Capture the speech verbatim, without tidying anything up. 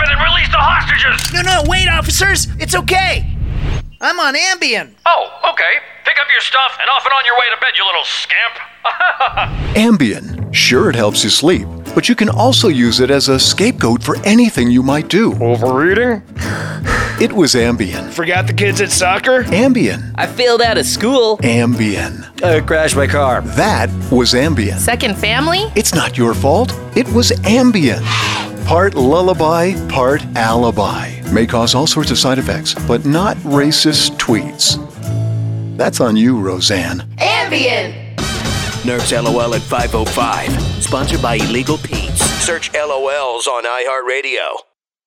ahead and release the hostages! No, no, wait, officers! It's okay! I'm on Ambien. Oh, okay. Pick up your stuff and off and on your way to bed, you little scamp. Ambien. Sure, it helps you sleep, but you can also use it as a scapegoat for anything you might do. Overeating? It was Ambien. Forgot the kids at soccer? Ambien. I failed out of school. Ambien. I crashed my car. That was Ambien. Second family? It's not your fault. It was Ambien. Part lullaby, part alibi. May cause all sorts of side effects, but not racist tweets. That's on you, Roseanne. Ambien! Nerf's L O L at five oh five. Sponsored by Illegal Pete's. Search L O Ls on iHeartRadio.